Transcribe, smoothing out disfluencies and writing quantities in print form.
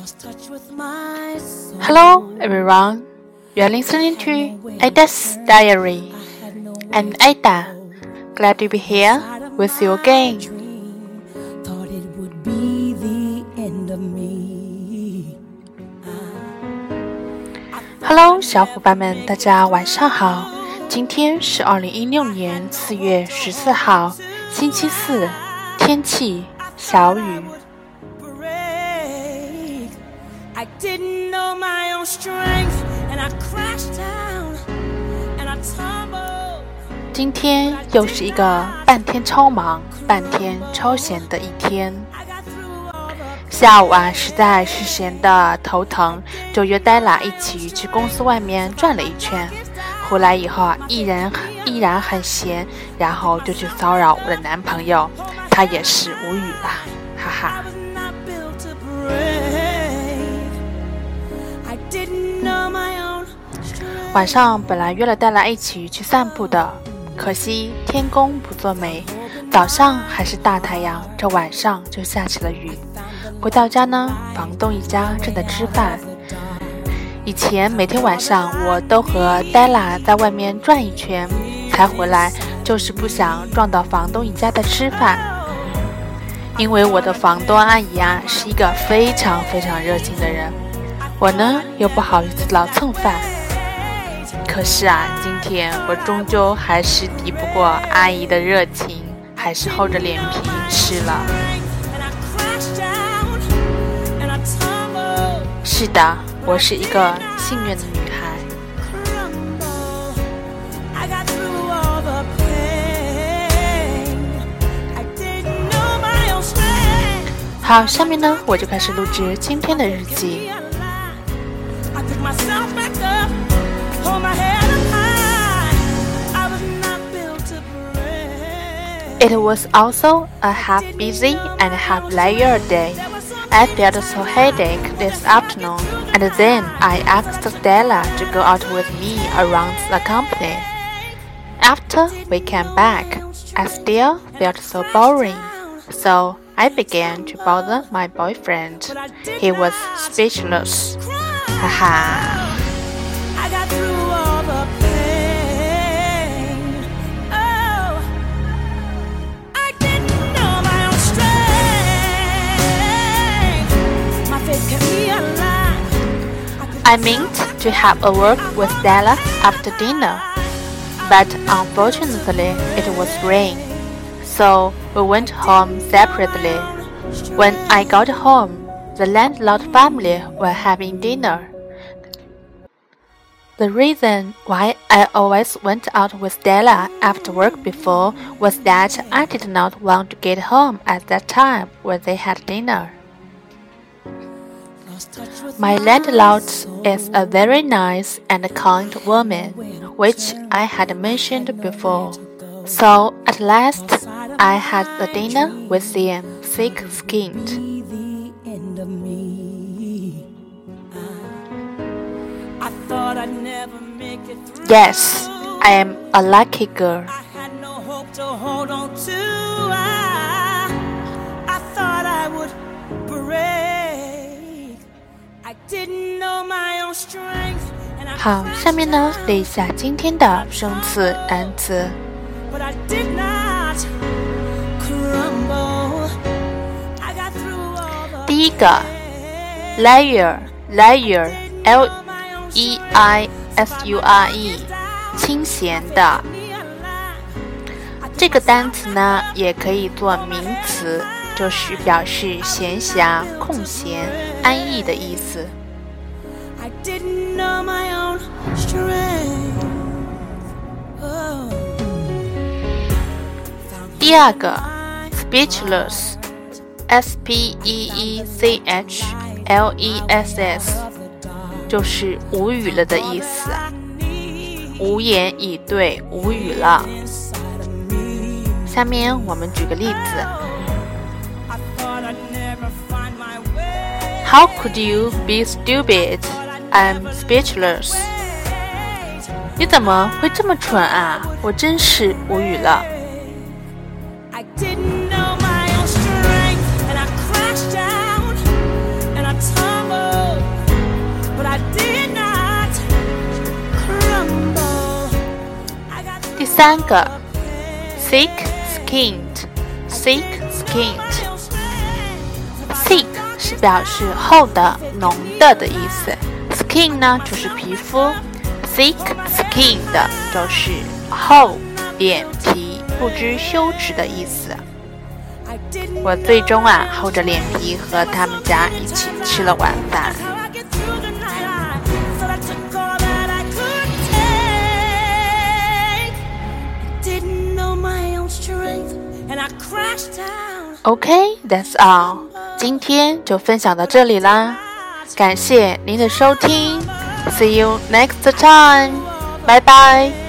Hello everyone, you are listening to Ada's Diary. I'm Ada, glad to be here with you again. Hello 小伙伴们，大家晚上好，今天是2016年4月14号，星期四，天气小雨。今天又是一个半天超忙半天超闲的一天。下午实在是闲得头疼，就约Della一起去公司外面转了一圈。回来以后依然很闲，然后就去骚扰我的男朋友，他也是无语了，哈哈。晚上本来约了Della一起去散步的，可惜天公不作美，早上还是大太阳，这晚上就下起了雨。回到家呢，房东一家正在吃饭。以前每天晚上我都和Della在外面转一圈才回来，就是不想撞到房东一家在吃饭。因为我的房东阿姨是一个非常非常热情的人，我呢又不好意思老蹭饭。可是今天我终究还是敌不过阿姨的热情，还是厚着脸皮吃了。是的，我是一个幸运的女孩。好，下面呢我就开始录制今天的日记。It was also a half busy and half leisure day. I felt so headache this afternoon, and then I asked Della to go out with me around the company. After we came back, I still felt so boring, so I began to bother my boyfriend. He was speechless. Haha. I meant to have a walk with Della after dinner, but unfortunately it was rain, so we went home separately. When I got home, the landlord family were having dinner. The reason why I always went out with Della after work before was that I did not want to get home at that time when they had dinner. My landlord is a very nice and kind woman, which I had mentioned before. So at last, I had the dinner with them thick-skinned. Yes, I am a lucky girl. I thought I would break.好，下面呢列一下今天的生词单词。第一个 leisure L-E-I-S-U-R-E 清闲的，这个单词呢也可以做名词，就是表示闲暇、空闲、安逸的意思。第二个 speechless S-P-E-E-C-H-L-E-S-S 就是无语了的意思，无言以对，无语了。下面我们举个例子。How could you be stupid? I'm speechless. 你怎么会这么蠢啊？我真是无语了。I didn't know my own strength, and I crashed down, and I tumbled. 3个 thick-skinned thick 是表示厚的、浓的的意思， skin 呢就是皮肤， thick-skinned 就是厚脸皮、不知羞耻的意思。我最终厚着脸皮和他们家一起吃了晚饭。Okay, that's all. 今天就分享到这里啦，感谢您的收听。See you next time. Bye bye.